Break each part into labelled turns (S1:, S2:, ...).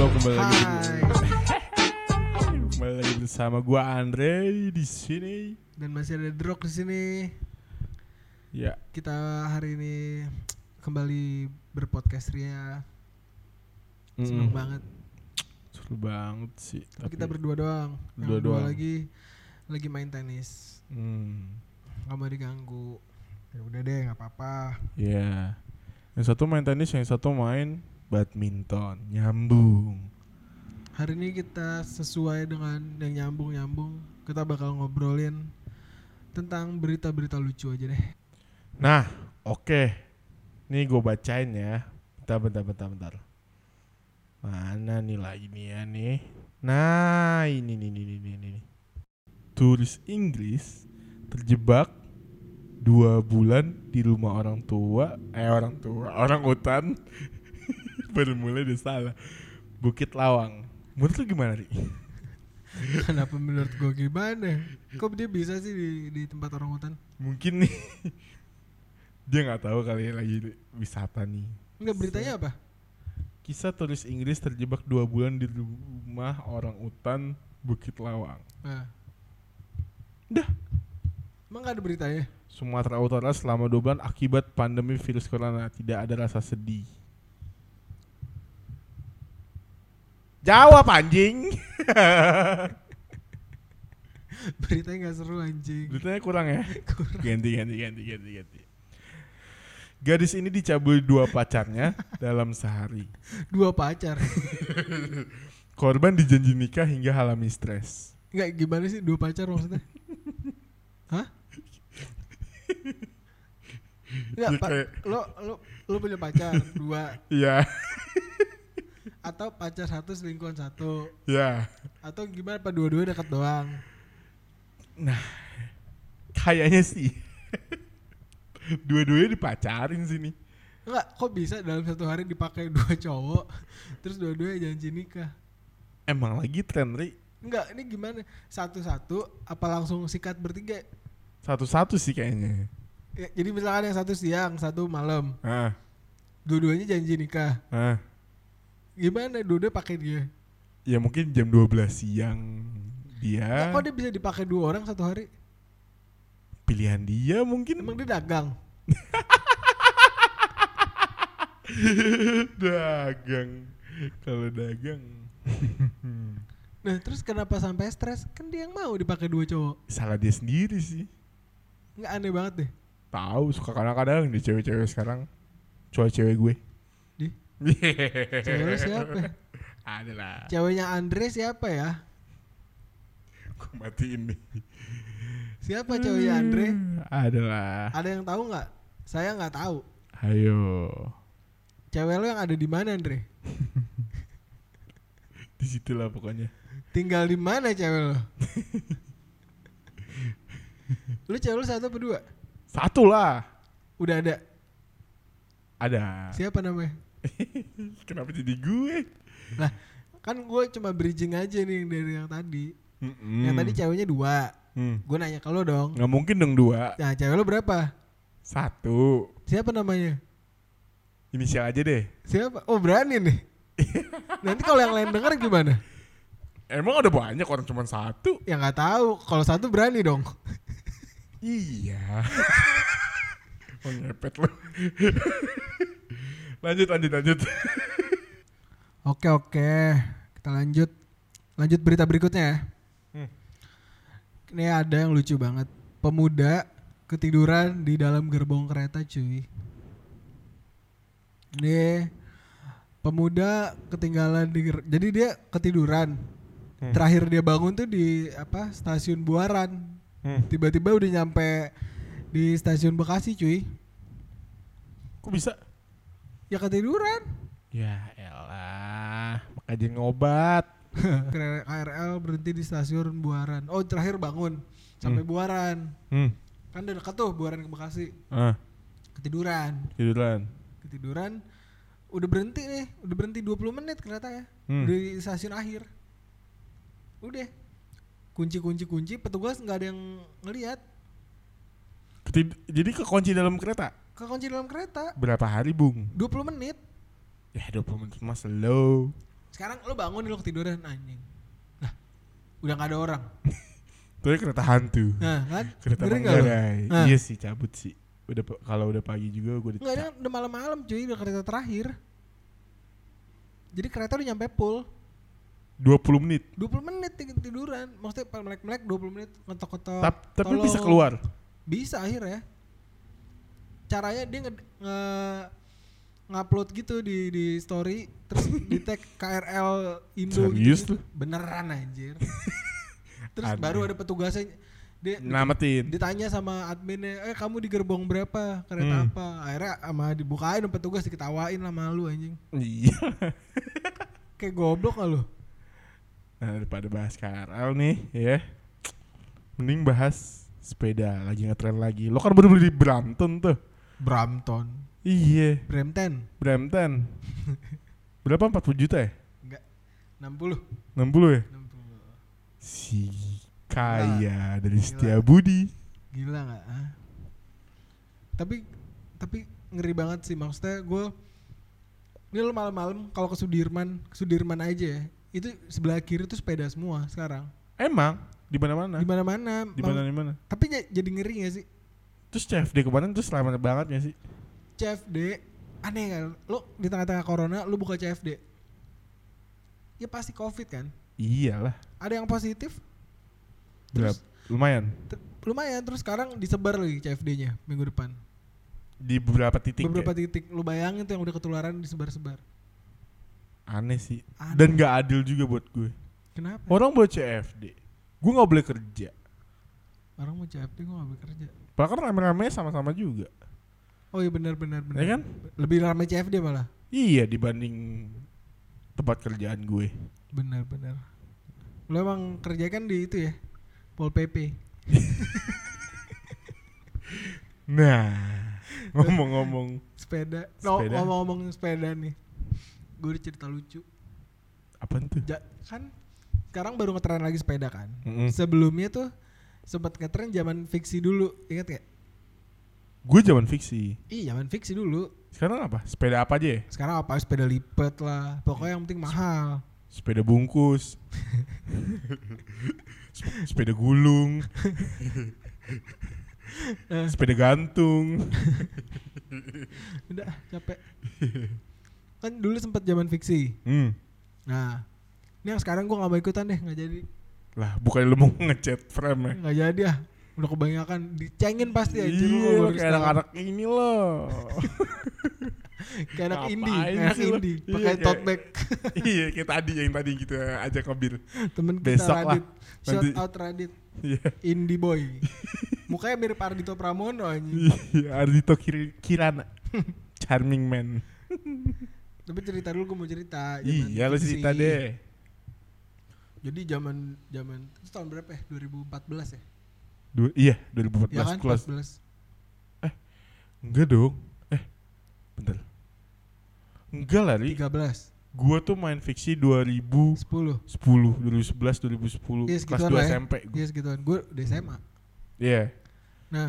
S1: Halo, kembali lagi.
S2: Hai.
S1: Kembali lagi bersama gua Andre di sini.
S2: Dan masih ada Drok di sini.
S1: Ya,
S2: Kita hari ini kembali berpodcast ria. Seneng banget.
S1: seru banget sih.
S2: Tapi kita berdua doang. Yang
S1: Berdua
S2: berdua
S1: doang.
S2: lagi main tenis. Gak mau diganggu. Ya udah deh, nggak apa-apa.
S1: Ya. Yang satu main tenis, yang satu main badminton. Nyambung.
S2: Hari ini kita sesuai dengan yang nyambung. Kita bakal ngobrolin tentang berita-berita lucu aja deh.
S1: Nah, oke. Nih gue bacain ya. Bentar. Mana nih lagi nih ya nih. Nah, ini. Turis Inggris terjebak 2 bulan di rumah orang hutan. Baru mulai udah salah. Bukit Lawang. Menurut lu gimana, Ri?
S2: Kenapa menurut gue gimana? Kok dia bisa sih di tempat orang hutan?
S1: Mungkin nih dia nggak tahu kali lagi wisata nih.
S2: Enggak, beritanya apa?
S1: Kisah turis Inggris terjebak 2 bulan di rumah orang utan Bukit Lawang.
S2: Nah.
S1: Dah.
S2: Emang gak ada beritanya?
S1: Sumatera Utara selama 2 bulan akibat pandemi virus corona. Tidak ada rasa sedih. Jawab anjing.
S2: Beritanya gak seru anjing.
S1: Beritanya kurang ya?
S2: Kurang.
S1: Ganti. Gadis ini dicabuli 2 pacarnya dalam sehari.
S2: 2 pacar.
S1: Korban dijanji nikah hingga alami stres.
S2: Enggak, gimana sih 2 pacar maksudnya? Hah? Enggak,
S1: Ya, kayak-
S2: lo punya pacar 2
S1: Iya,
S2: atau pacar 1 selingkuhan 1
S1: ya.
S2: atau gimana, apa dua-dua dekat doang?
S1: Nah, kayaknya sih dua-duanya dipacarin sini.
S2: Enggak, kok bisa dalam 1 hari dipakai 2 cowok terus dua-duanya janji nikah?
S1: Emang lagi tren, Ri.
S2: Enggak, ini gimana? Satu-satu apa langsung sikat bertiga?
S1: Satu-satu sih kayaknya.
S2: Ya, jadi misalkan yang 1 siang, 1 malam,
S1: Ah,
S2: dua-duanya janji nikah.
S1: ah.
S2: Gimana dua-duanya pakai dia?
S1: Ya mungkin jam 12 siang
S2: Ya,
S1: dia.
S2: kok dia bisa dipakai 2 orang 1 hari?
S1: Pilihan dia mungkin.
S2: Emang dia dagang?
S1: Dagang. Kalau dagang.
S2: Nah, terus kenapa sampai stres? Kan dia yang mau dipakai 2 cowok.
S1: Salah dia sendiri sih.
S2: Nggak, aneh banget deh.
S1: Tahu suka kadang-kadang di cewek-cewek sekarang. Cewek gue.
S2: Di? Cewek lu siapa?
S1: Ada lah.
S2: Ceweknya Andre siapa ya?
S1: Gue matiin nih.
S2: Siapa ceweknya Andre?
S1: Ada lah.
S2: Ada yang tahu nggak? Saya nggak tahu.
S1: Ayo.
S2: Cewek lu yang ada di mana, Andre?
S1: Di situ lah pokoknya.
S2: Tinggal di mana cewek lu? Lu cewek lu 1 apa 2?
S1: 1 lah.
S2: Udah ada.
S1: Ada.
S2: Siapa namanya?
S1: Kenapa jadi gue?
S2: Lah, kan gue cuma bridging aja nih dari yang tadi. Yang tadi ceweknya 2. Gue nanya ke lo dong.
S1: Nggak mungkin dong 2.
S2: Nah, cewek lo berapa?
S1: 1.
S2: Siapa namanya?
S1: Inisial aja deh.
S2: Siapa? Oh, berani nih. Nanti kalau yang lain denger gimana?
S1: Emang ada banyak orang cuma 1?
S2: Ya nggak tahu. Kalau 1 berani dong.
S1: Iya. Oh, ngepet lo. Lanjut.
S2: Oke. Kita lanjut berita berikutnya ya. Ini ada yang lucu banget. Pemuda ketiduran di dalam gerbong kereta, cuy. Ini pemuda ketinggalan jadi dia ketiduran. Terakhir dia bangun tuh di stasiun Buaran. Tiba-tiba udah nyampe di stasiun Bekasi, cuy.
S1: Kok bisa?
S2: Ya ketiduran.
S1: Ya elah, makanya ngobat.
S2: KRL berhenti di stasiun Buaran. Oh, terakhir bangun sampai Buaran. Kan udah dekat tuh Buaran ke Bekasi. Ketiduran. Udah berhenti 20 menit kereta ya. Di stasiun akhir. Udah. Kunci, petugas nggak ada yang ngelihat.
S1: Jadi kekunci dalam kereta?
S2: Kekunci dalam kereta.
S1: Berapa hari, Bung?
S2: 20 menit.
S1: Ya 20 menit mas slow.
S2: Sekarang lo bangun nih lo ketiduran anjing. Lah, udah gak ada orang.
S1: Itu kereta hantu.
S2: Nah kan?
S1: Kereta
S2: Ngeri nggak lo?
S1: Manggarai.
S2: Nah.
S1: Iya sih cabut sih. Kalau udah pagi juga gue
S2: Enggak, ada udah malam-malam cuy, udah kereta terakhir. Jadi kereta udah nyampe full
S1: 20 menit.
S2: 20 menit tiduran. Maksudnya melek-melek 20 menit ngetok-ngetok.
S1: Tapi
S2: tolong.
S1: bisa keluar.
S2: Bisa akhirnya. Caranya dia ngupload gitu di story terus di tag KRL Indo
S1: Serius
S2: gitu.
S1: lu?
S2: Beneran anjir. Terus
S1: Aneh.
S2: baru ada petugasnya dia
S1: Namatin.
S2: ditanya sama adminnya, kamu di gerbong berapa? Kereta apa? Akhirnya sama dibukain sama petugas diketawain lah malu anjing.
S1: Iya.
S2: Kayak goblok lah lu.
S1: Nah, daripada bahas KRL nih ya. Mending bahas sepeda lagi ngetren lagi. Lo kan baru beli di Brampton tuh.
S2: Brampton.
S1: Iya.
S2: Brampton.
S1: Brampton. Berapa 40 juta ya?
S2: Enggak. 60.
S1: 60 ya?
S2: 60.
S1: Si kaya dari
S2: Gila.
S1: Setiabudi.
S2: Gila enggak? Tapi ngeri banget sih, maksudnya gue ini lo malam-malam kalau ke Sudirman aja ya. Itu sebelah kiri tuh sepeda semua sekarang.
S1: Emang di mana-mana?
S2: Di mana-mana.
S1: Di mana?
S2: Tapi jadi ngeri gak sih?
S1: Terus CFD kemarin tuh selamat banget gak sih?
S2: CFD aneh kan? Lo di tengah-tengah corona lo buka CFD. Ya pasti Covid kan?
S1: Iyalah.
S2: Ada yang positif?
S1: Berapa? Lumayan.
S2: Lumayan, terus sekarang disebar lagi CFD-nya minggu depan.
S1: Di beberapa titik.
S2: Beberapa
S1: ya?
S2: titik. Lu bayangin tuh yang udah ketularan disebar-sebar.
S1: Aneh sih.
S2: Aneh.
S1: Dan gak adil juga buat gue.
S2: Kenapa?
S1: Orang buat CFD, gue gak boleh kerja.
S2: Orang mau CFD gue gak boleh kerja.
S1: Padahal kan rame-rame sama-sama juga.
S2: Oh iya benar.
S1: Ya kan?
S2: Lebih ramai CFD malah.
S1: Iya dibanding tempat kerjaan gue.
S2: Benar. Lu emang kerja kan di itu ya? Pol PP.
S1: Nah, ngomong-ngomong
S2: Sepeda.
S1: Sepeda.
S2: Ngomong-ngomong sepeda nih. Gue ada cerita lucu.
S1: apaan tuh?
S2: Kan sekarang baru ngetren lagi sepeda kan.
S1: Mm-mm.
S2: Sebelumnya tuh sempat ngetren zaman fiksi dulu, ingat gak?
S1: Gue zaman fiksi.
S2: Iya zaman fiksi dulu.
S1: Sekarang apa? Sepeda apa aja ya?
S2: Sekarang apa? Sepeda lipat lah. Pokoknya yang penting mahal.
S1: Sepeda bungkus. Sepeda gulung. Sepeda gantung.
S2: Udah capek. Kan dulu sempat zaman fiksi. Nah, ini yang sekarang gue gak mau ikutan deh, gak jadi.
S1: Lah, bukannya lu mau ngecat frame ya?
S2: Gak jadi ah. Udah kebanyakan dicengin pasti aja.
S1: Iya, kayak anak-anak ini loh.
S2: Kayak anak
S1: Ngapain
S2: indie, anak
S1: sih lu?
S2: indie.
S1: Iya,
S2: Pakai
S1: kayak-
S2: tote bag.
S1: Iya, kayak tadi yang kita ajak ngebir.
S2: Temen kita
S1: Besok lah.
S2: Radit. Shout
S1: Nanti-
S2: out Radit.
S1: Iya.
S2: Indie boy. Mukanya mirip Ardito Pramono anjing.
S1: Iya, Ardito Kirana. Charming man.
S2: Tapi cerita dulu gue mau cerita.
S1: Iya, lu
S2: fiksi.
S1: cerita deh.
S2: Jadi zaman itu tahun berapa ya? 2014 ya?
S1: Iya, 2014
S2: Ya kan?
S1: kelas.
S2: 14.
S1: Enggak dong. Bentar. Enggak lah, Ri.
S2: 13.
S1: Gua tuh main fiksi 2010,
S2: 10.
S1: 2011, 2010,
S2: Iya
S1: kelas
S2: segituan
S1: 2
S2: lah ya.
S1: SMP.
S2: Iya segituan. Gue udah SMA.
S1: Iya.
S2: Nah,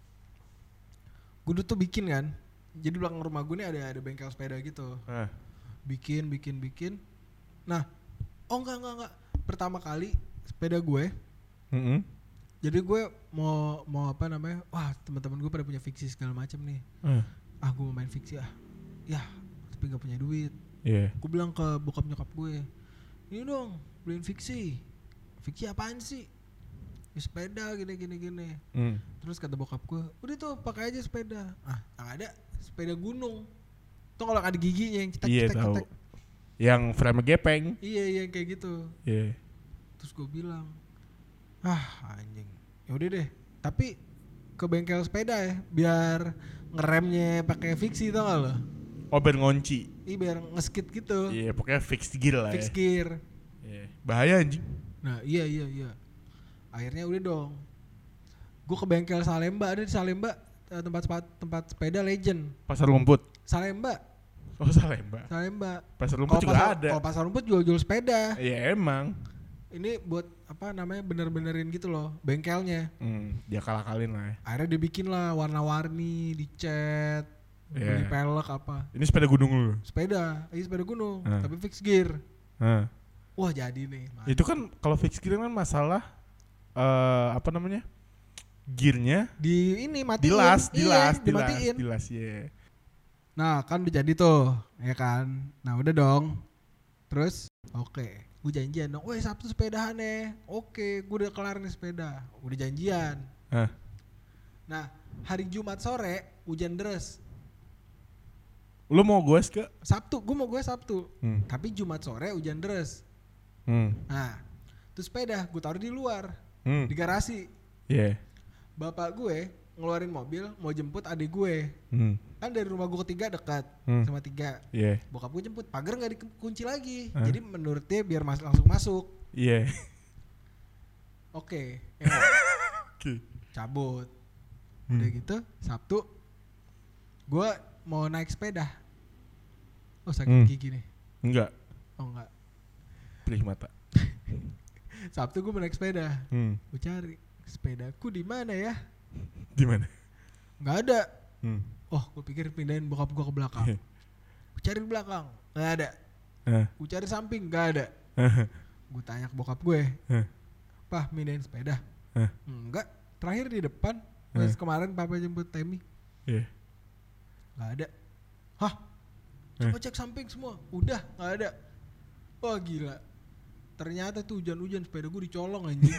S2: gue dulu tuh bikin kan. Jadi belakang rumah gue nih ada bengkel sepeda gitu.
S1: Nah,
S2: Bikin. Nah, enggak. Pertama kali sepeda gue. Jadi gue mau apa namanya? Wah, teman-teman gue pada punya fiksi segala macam nih. Gue mau main fiksi ah. Ya, tapi nggak punya duit.
S1: Iya.
S2: Gue bilang ke bokap nyokap gue, ini dong beliin fiksi. Fiksi apaan sih? Ya, sepeda gini. Terus kata bokap gue, udah tuh pakai aja sepeda. Yang ada sepeda gunung. Tuh kalau ada giginya yang
S1: Iya tahu. Yang frame gepeng.
S2: Iya kayak gitu.
S1: Iya.
S2: Terus gue bilang, anjing. Ya udah deh. Tapi ke bengkel sepeda ya, biar ngeremnya pakai fiksi tau gak lo?
S1: Oh, biar ngunci.
S2: Iya biar ngeskit gitu.
S1: Iya, pokoknya fixed gear lah
S2: Fix
S1: ya.
S2: gear.
S1: Iya. Bahaya anjing.
S2: Nah iya. Akhirnya udah dong. Gue ke bengkel Salemba, ada di Salemba tempat sepeda legend.
S1: Pasar Rumput.
S2: Salemba.
S1: Oh, Salemba. Pasar Rumput juga ada.
S2: Kalau pasar rumput jual sepeda.
S1: Iya, emang.
S2: Ini buat apa namanya bener-benerin gitu loh bengkelnya.
S1: Dia kalah-kalin lah ya.
S2: Akhirnya dibikin lah warna-warni, dicat, beli
S1: Iya.
S2: pelek apa.
S1: Ini sepeda gunung lu.
S2: Sepeda gunung,
S1: Ah.
S2: tapi fix gear.
S1: Hah.
S2: Wah jadi nih.
S1: Itu kan kalau fix gear kan masalah apa namanya? Gearnya
S2: Di ini matiin. Dimatiin.
S1: dilas ya.
S2: Nah kan udah jadi tuh, ya kan. Nah udah dong. Terus, oke, gue janjian dong. Weh Sabtu sepedahan nih. Oke, gue udah kelar nih sepeda. Udah janjian.
S1: Hah.
S2: Nah hari Jumat sore hujan deras.
S1: Lu mau goes ke?
S2: Sabtu, gue mau gue Sabtu. Tapi Jumat sore hujan deras. Nah, terus sepeda gue taruh di luar, di garasi.
S1: Iya.
S2: Bapak gue ngeluarin mobil mau jemput adik gue. Kan dari rumah gue ketiga dekat sama 3.
S1: Iya.
S2: Bokap gue jemput, pagar nggak dikunci lagi. Jadi menurut dia biar langsung masuk.
S1: Iya.
S2: Oke.
S1: Oke.
S2: Cabut. Udah gitu Sabtu gue mau naik sepeda. Oh sakit gigi nih.
S1: Enggak.
S2: Oh enggak.
S1: Perih mata.
S2: Sabtu gue mau naik sepeda. Gue cari sepedaku di mana ya?
S1: Di mana?
S2: Nggak ada. Oh, gue pikir pindahin bokap gue ke belakang. Gue cari di belakang, nggak ada. Gue cari samping, nggak ada. Gue tanya ke bokap gue, Pah, pindahin sepeda? Enggak. Terakhir di depan. Pas kemarin papa jemput Temi. Nggak ada. Hah? Coba cek samping semua. Udah, nggak ada. Wah gila. Ternyata tuh hujan-hujan sepeda gue dicolong anjing.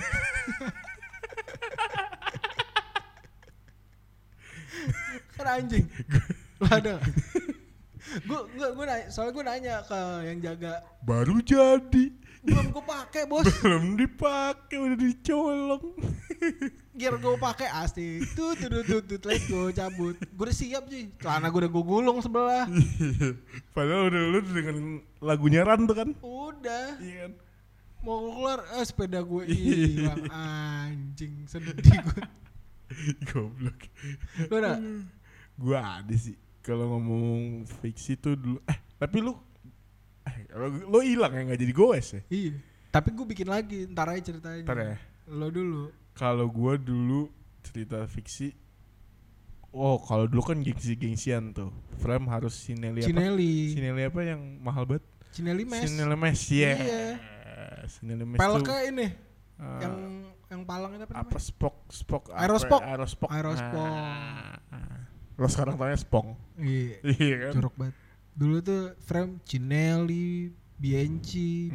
S2: Kan anjing. Lu ada gak? Gue nanya, soalnya gue nanya ke yang jaga.
S1: Baru jadi.
S2: Belum gue pakai bos.
S1: Belum dipakai udah dicolong.
S2: Gear gue pakai asik. Tuh, let's go cabut. Gue udah siap sih. Celana gue udah gue gulung sebelah.
S1: Padahal udah lu dengan lagunya Ran tuh kan.
S2: Udah.
S1: Iya kan.
S2: Mau keluar, sepeda gue hilang anjing. Sedih gue.
S1: Goblok.
S2: Lu ada?
S1: Gua ada sih. Kalau ngomong fiksi tuh dulu. Tapi lu hilang ya, nggak jadi goes ya?
S2: Iya. Tapi gue bikin lagi, ntar aja ceritanya.
S1: Ntar ya.
S2: Lo dulu.
S1: Kalau gua dulu cerita fiksi. Oh, kalau dulu kan gengsi-gengsian tuh. Frame harus Cinelli apa? Cinelli apa yang mahal banget?
S2: Cinelli Mesh.
S1: Cinelli Mesh, yeah.
S2: Iya.
S1: Cinelli Mesh
S2: peleknya
S1: tuh.
S2: ini. Yang palangnya apa namanya?
S1: Apa Spock?
S2: Aerospok.
S1: Aerospok.
S2: Aerospok.
S1: Lo sekarang tanya Spong.
S2: Iya
S1: kan?
S2: Jorok banget. Dulu tuh frame Cinelli, Bianchi.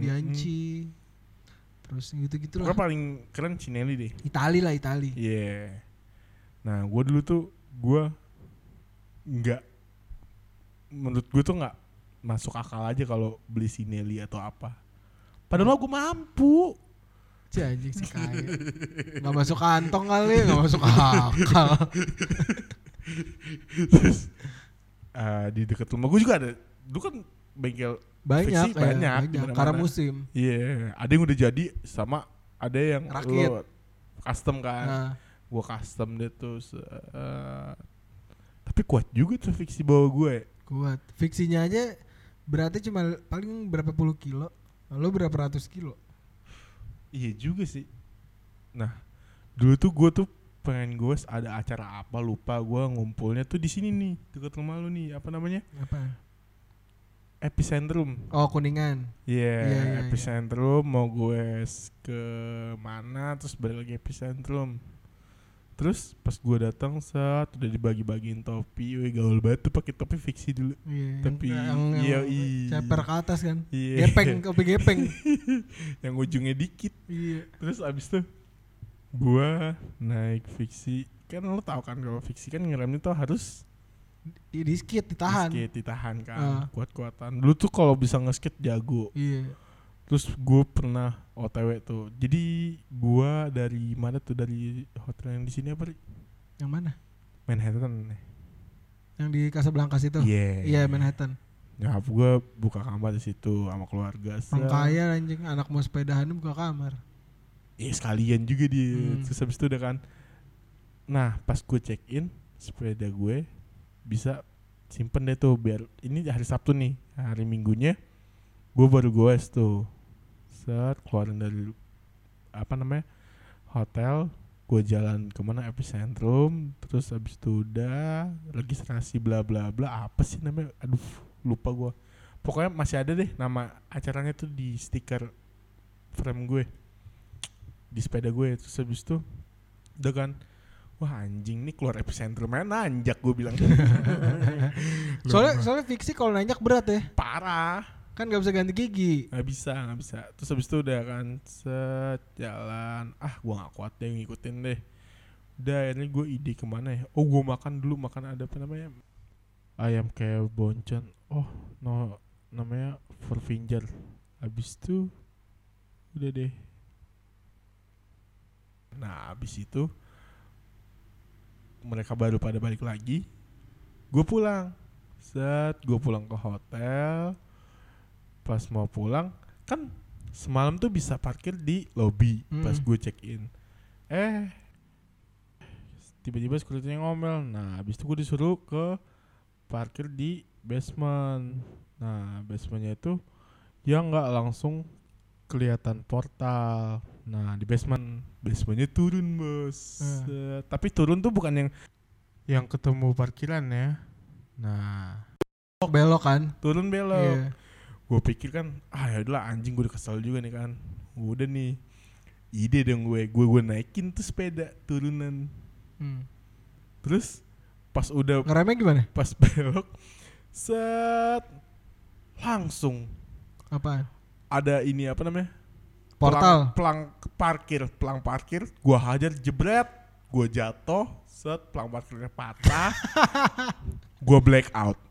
S2: Terus gitu-gitu lah.
S1: Gue paling keren Cinelli deh.
S2: Itali.
S1: Iya. Yeah. Nah, gue dulu tuh menurut gue tuh nggak masuk akal aja kalau beli Cinelli atau apa. Padahal gue mampu.
S2: Si anjing si kaya. Gak masuk kantong kali, gak masuk akal.
S1: Terus di dekat rumah gue juga ada. Dulu kan bengkel
S2: banyak. Karena musim.
S1: Iya, ada yang udah jadi sama ada yang
S2: rakit.
S1: Lo custom kan. Gue custom deh tuh. Tapi kuat juga tuh fiksi bawa gue.
S2: Kuat. Fiksinya aja beratnya cuma paling berapa puluh kilo. Lo berapa ratus kilo.
S1: Iya juga sih. Nah, dulu tuh gue tuh pengen gue ada acara apa lupa, gue ngumpulnya tuh di sini nih dekat rumah lu nih, apa namanya?
S2: Apa?
S1: Epicentrum.
S2: Oh, Kuningan.
S1: Yeah, Epicentrum. Mau gue ke mana terus balik lagi Epicentrum. Terus pas gue datang saat udah dibagi-bagiin topi, gaul banget tuh pakai topi fiksi dulu.
S2: Iya.
S1: Tapi
S2: ceper ke atas kan.
S1: Iya.
S2: Topi gepeng.
S1: Yang ujungnya dikit.
S2: Iya.
S1: Terus abis tuh gue naik fiksi. Kan lo tau kan kalau fiksi kan ngeremnya tuh harus ditahan kan. Kuat-kuatan. Dulu tuh kalau bisa nge-skate jago.
S2: Iya. Terus
S1: gue pernah OTW tuh. Jadi gue dari mana tuh, dari hotel yang di sini apa?
S2: Yang mana?
S1: Manhattan.
S2: Yang di Casablanca situ. Iya, Manhattan.
S1: Nyokap gue buka kamar di situ sama keluarga.
S2: Orang kaya anjing, anak mau sepedahan buka kamar.
S1: Iya sekalian juga dia. Terus habis itu udah kan. Nah pas gue check in sepeda gue bisa simpen deh tuh, biar ini hari Sabtu nih, hari Minggunya gue baru goes tuh. Keluarin dari hotel, gue jalan kemana, Epicentrum. Terus abis itu udah registrasi bla bla bla, apa sih namanya, aduh lupa gue. Pokoknya masih ada deh nama acaranya tuh di stiker frame gue di sepeda gue. Terus habis itu udah kan, wah anjing nih keluar epicenter main nanjak gue bilang.
S2: Soalnya fiksi kalau nanjak berat ya.
S1: Parah.
S2: Kan gak bisa ganti gigi.
S1: Gak bisa. Terus habis itu udah kan set jalan. Gue gak kuat deh ngikutin deh. Udah akhirnya gue ide kemana ya. Gue makan ada apa namanya, ayam kayak boncen. Namanya Verfinger. Habis itu udah deh. Nah habis itu mereka baru pada balik lagi. Gue pulang. Gue pulang ke hotel. Pas mau pulang kan semalam tuh bisa parkir di lobby. Pas gue check in tiba-tiba security-nya ngomel. Nah habis itu gue disuruh ke parkir di basement. Nah basementnya itu ya nggak langsung kelihatan portal. Nah di basementnya turun bos. Tapi turun tuh bukan yang ketemu parkiran ya. Nah
S2: belok kan,
S1: turun belok.
S2: yeah.
S1: Gue pikir kan yaudahlah anjing, gue udah kesel juga nih kan. Udah nih ide dong gue naikin tuh sepeda turunan. Terus pas udah
S2: ngeremnya gimana?
S1: Pas belok set langsung
S2: Apaan?
S1: ada ini apa namanya,
S2: Portal.
S1: pelang parkir gue hajar jebret, gue jatuh set, pelang parkirnya patah. Gue black out.